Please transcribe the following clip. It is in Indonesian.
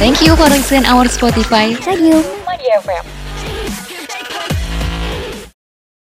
Thank you for listening our Spotify. Thank you. Media FM.